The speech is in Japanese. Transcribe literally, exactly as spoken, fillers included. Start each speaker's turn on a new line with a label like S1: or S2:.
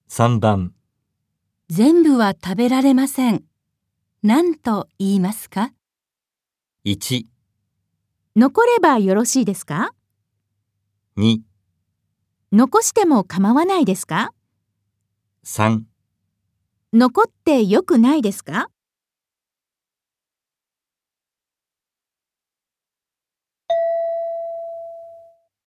S1: さんばん
S2: 全部は食べられません。何と言いますか？
S1: いち、
S2: 残ればよろしいですか？
S1: に、
S2: 残しても構わないですか？
S1: さん
S2: 残ってよくないですか？